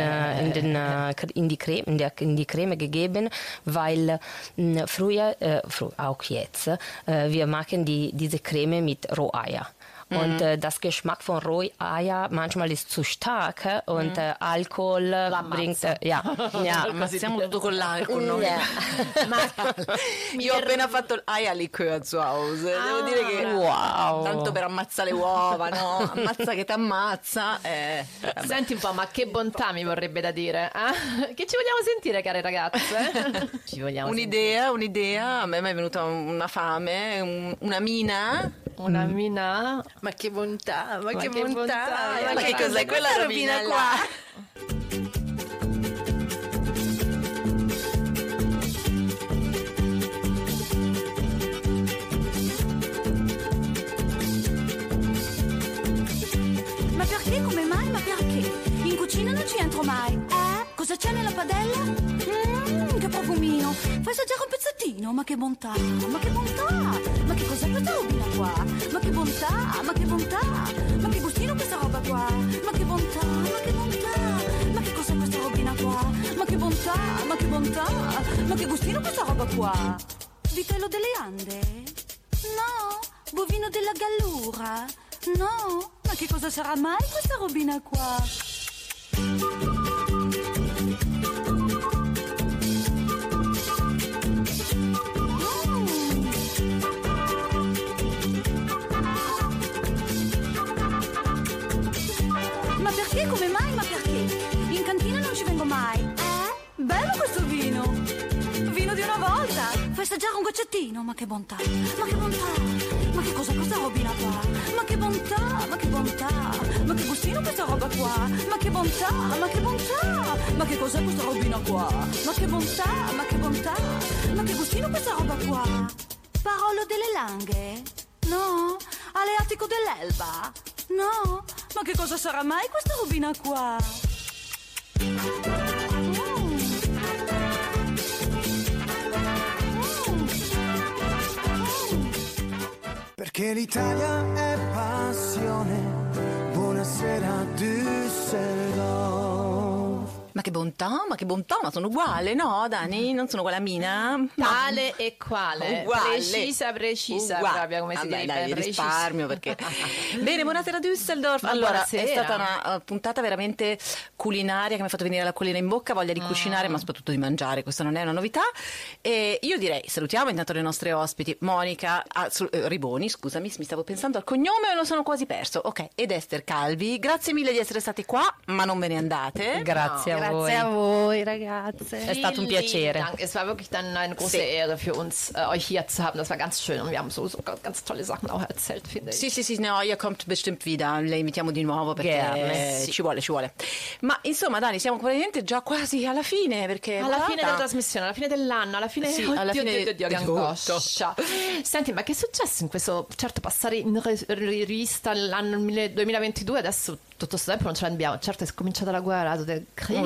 die Creme gegeben, weil früher, auch jetzt, wir machen diese Creme mit Roheier. Und das Geschmack von Roheier manchmal ist zu stark und Alkohol bringt... Ammazziamo tutto con l'alcol, no? Io ho appena fatto l'Eierlikör zu Hause, devo dire che tanto per ammazzare le uova, no? Ammazza che t'ammazza. Senti un po', ma che bontà mi vorrebbe da dire, eh? Che ci vogliamo sentire, care ragazze? Ci vogliamo un'idea, a me mi è venuta una fame, una mina. Una mina. Ma che bontà, ma che bontà. bontà. Ma che cos'è quella robina qua? Ma perché? Come mai? Ma perché? In cucina non ci entro mai. Cosa c'è nella padella? Che profumino. Fai assaggiare un pezzettino. Ma che bontà, ma che bontà. Ma che cos'è questa robina qua? Ma che bontà, ma che bontà. Ma che gustino questa roba qua. Ma che bontà, ma che bontà. Ma che cos'è questa robina qua? Ma che bontà, ma che bontà. Ma che gustino questa roba qua. Vitello delle Ande? No. Bovino della Gallura? No. Ma che cosa sarà mai questa robina qua? Ma perché? Come mai? Ma perché? In cantina non ci vengo mai. Bello questo vino. Vino di una volta. Fai assaggiare un goccettino. Ma che bontà. Ma che bontà. Ma che cos'è questa robina qua? Ma che bontà. Ma che bontà. Ma che gustino questa roba qua. Ma che bontà. Ma che bontà. Ma che cos'è questa robina qua? Ma che bontà. Ma che bontà. Ma che gustino questa roba qua. Parolo delle Langhe? No. Aleatico dell'Elba? No. Ma che cosa sarà mai questa robina qua? perché l'Italia è passione. Buonasera Düsseldorf. Ma che bontà, ma sono uguale, no Dani? Non sono uguale a Mina? No. Tale e quale, Uguale. precisa proprio, come si dice. Dai, risparmio perché... Bene, buonasera Düsseldorf. Allora, buonasera. è stata una puntata veramente culinaria che mi ha fatto venire l'acquolina in bocca, voglia di cucinare, ma soprattutto di mangiare, questa non è una novità. E io direi, salutiamo intanto le nostre ospiti, Monica Riboni, scusami, mi stavo pensando al cognome e lo sono quasi perso, ok, ed Esther Calvi, grazie mille di essere stati qua, ma non ve ne andate. Grazie a voi. Grazie a voi, ragazze. È stato un piacere. Dank. Es war wirklich dann eine große Ehre für uns, euch hier zu haben. Das war ganz schön und wir haben so ganz tolle Sachen auch erzählt, finde ich. Sì, no, ihr kommt bestimmt wieder, le invitiamo di nuovo perché ci vuole. Ma insomma Dani, siamo praticamente già quasi alla fine, perché alla fine della trasmissione, alla fine dell'anno, alla fine, alla fine Dio, che angoscia. Senti, ma che è successo in questo, certo, passare in rivista l'anno 2022, adesso tutto questo tempo non ce l'abbiamo, certo è cominciata la guerra, also der Krieg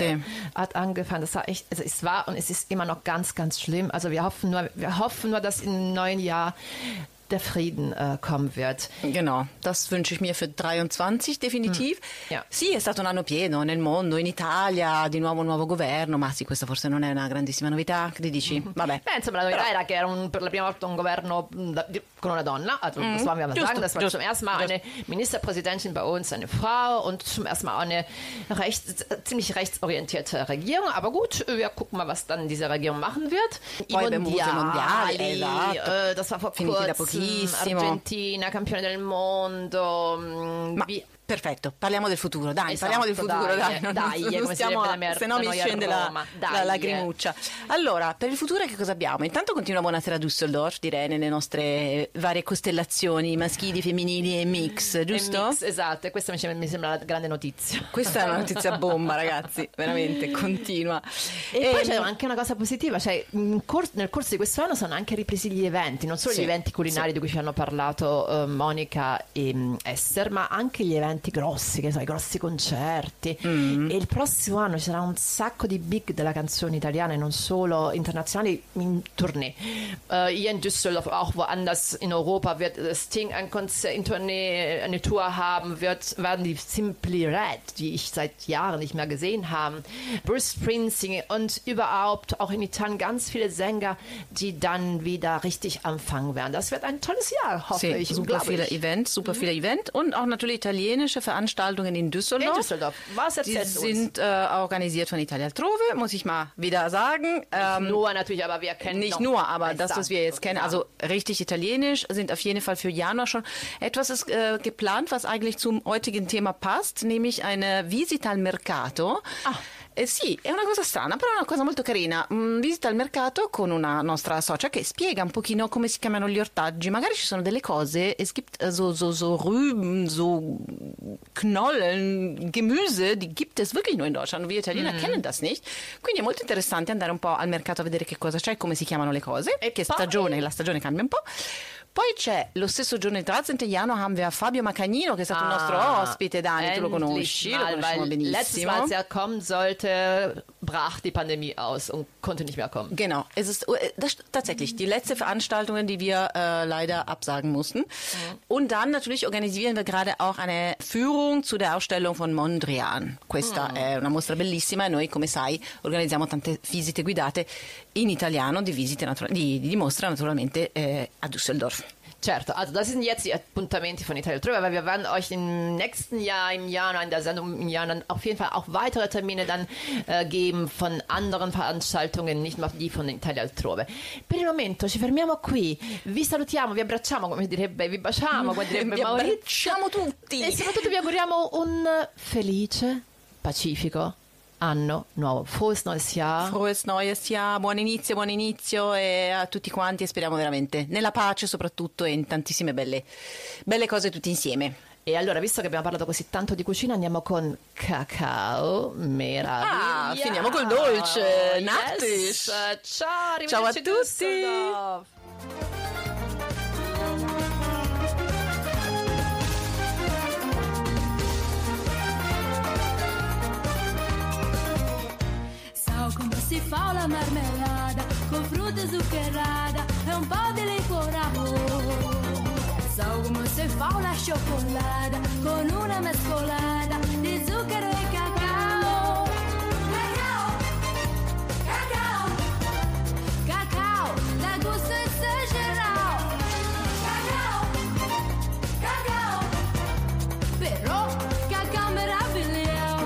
hat angefangen, das war echt, also es war und es ist immer noch ganz, ganz schlimm, also wir hoffen nur, dass im neuen Jahr der Frieden kommen wird. Genau, das wünsche ich mir für 23 definitiv. Ja. Sì, è stato un anno pieno nel mondo, in Italia, di nuovo un nuovo governo, ma sì, questa forse non è una grandissima novità, che dici? Vabbè. Beh, insomma, la novità era che era per la prima volta un Governo con una donna, also das wollen wir mal sagen, das war zum ersten Mal eine Ministerpräsidentin bei uns, eine Frau und zum ersten Mal eine ziemlich rechtsorientierte Regierung, aber gut, wir gucken mal, was dann diese Regierung machen wird. Poi mondiali, esatto. Das war vor Finiti da kurzem, pochissimo. Argentina, campione del mondo. Perfetto, parliamo del futuro, dai, Esatto, parliamo del futuro, dai, come stiamo, si se no mi scende la lagrimuccia. Allora, per il futuro che cosa abbiamo? Intanto continua Buonasera Düsseldorf, direi, nelle nostre varie costellazioni maschili, femminili e mix, giusto? Mix, esatto, e questa mi sembra la grande notizia. Questa è una notizia bomba, ragazzi, veramente, continua. E poi c'è anche una cosa positiva, cioè nel corso di questo anno sono anche ripresi gli eventi, non solo gli eventi culinari di cui ci hanno parlato Monica e Esther, ma anche gli eventi grossi, che so, i grossi concerti. E il prossimo anno ci sarà un sacco di big della canzone italiana e non solo internazionali in tournée. Hier in Düsseldorf, auch woanders in Europa wird Sting ein Konzert in Tournee, eine Tour haben, werden die Simply Red, die ich seit Jahren nicht mehr gesehen habe, Bruce Springsteen und überhaupt auch in Italien ganz viele Sänger, die dann wieder richtig anfangen werden. Das wird ein tolles Jahr, hoffe ich. Super viele Events und auch natürlich italienische Veranstaltungen in Düsseldorf. Was erzählst du uns? Die sind organisiert von Italia Altrove, muss ich mal wieder sagen. Nicht nur natürlich, aber wir kennen nicht nur, aber das, was wir jetzt kennen, also richtig italienisch, sind auf jeden Fall für Januar schon etwas ist geplant, was eigentlich zum heutigen Thema passt, nämlich eine Visita al Mercato. Sì, è una cosa strana, però è una cosa molto carina. Visita al mercato con una nostra socia che spiega un pochino come si chiamano gli ortaggi. Magari ci sono delle cose, es gibt so Rüben, so Knollen, Gemüse, die gibt es wirklich nur in Deutschland. Wir Italiener kennen das nicht. Quindi è molto interessante andare un po' al mercato a vedere che cosa c'è, come si chiamano le cose, e che la stagione cambia un po'. Poi c'è lo stesso giorno il 13. Januar haben wir Fabio Macagnino, che è stato un nostro ospite, Dani, tu lo conosci, lo conosciamo benissimo. Letztes Mal, als er kommen sollte, brach die Pandemie aus und konnte nicht mehr kommen. Genau, es ist tatsächlich die letzte Veranstaltung, die wir leider absagen mussten. Und dann natürlich organisieren wir gerade auch eine Führung zu der Ausstellung von Mondrian. Questa è una mostra bellissima e noi, come sai, organizziamo tante visite guidate in italiano di mostra naturalmente a Düsseldorf. Certo, also das sind jetzt die Appuntamenti von Italia Altrove, weil wir werden euch im nächsten Jahr, im Januar, in der Sendung im Januar dann auf jeden Fall auch weitere Termine dann geben von anderen Veranstaltungen, nicht nur die von Italia Altrove. Per il momento ci fermiamo qui, vi salutiamo, vi abbracciamo, come direbbe, vi baciamo, come direbbe vi Maurizio. abbracciamo tutti E soprattutto vi auguriamo un felice, pacifico anno nuovo. Frohes neues Jahr. Frohes neues Jahr, buon inizio e a tutti quanti, e speriamo veramente nella pace soprattutto e in tantissime belle cose tutti insieme. E allora, visto che abbiamo parlato così tanto di cucina, andiamo con cacao meraviglia. Finiamo col dolce, Nachtisch. Ciao a tutti. Come si fa la marmellata con frutta zuccherata e un po' di liquore. So come se fa una cioccolata con una mescolata di zucchero e cacao. Cacao, cacao, cacao, da gusto esagerato. Cacao, cacao, però cacao meraviglioso.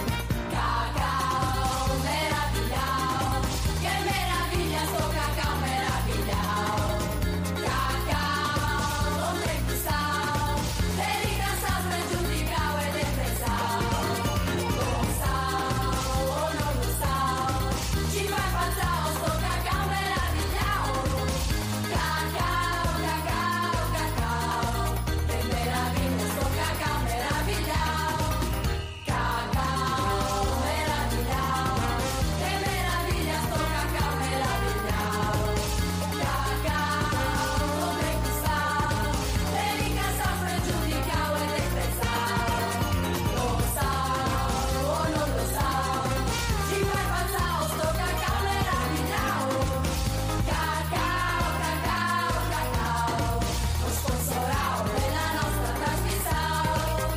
Cacao meraviglioso, che meraviglia sto cacao meraviglioso. Cacao, donde gustavo, verità sempre giudicavo ed è pesao. Lo sao o non lo sao, ci fa impazzare sto cacao meraviglioso. Cacao, cacao, cacao, che meraviglia sto cacao meraviglioso. Cacao meraviglioso, che meraviglia sto cacao meraviglioso. Cacao, donde gustavo, verità sempre giudicavo ed è pesao. Lo sao o non lo sao, ci fa impazzare sto cacao meraviglioso. Cacao, cacao, cacao, lo sponsorao della nostra trasmissione.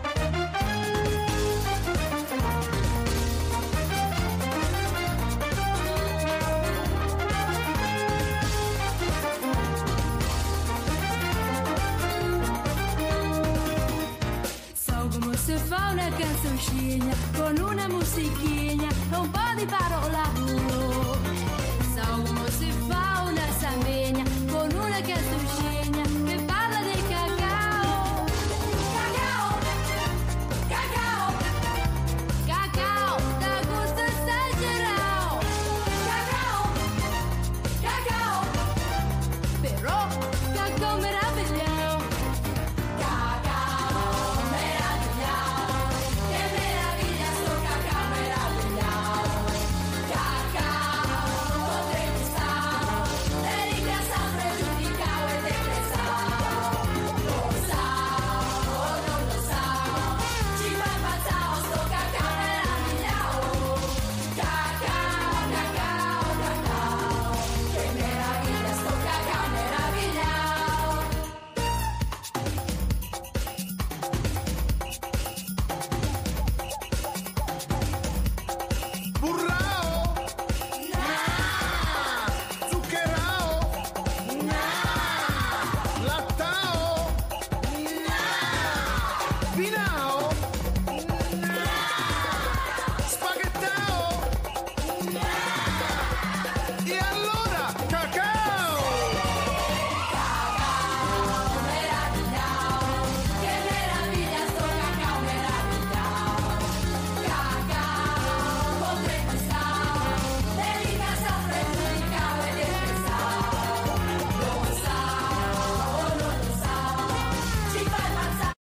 So come si fa una canzoncina con una musichina e un po' di parolacce.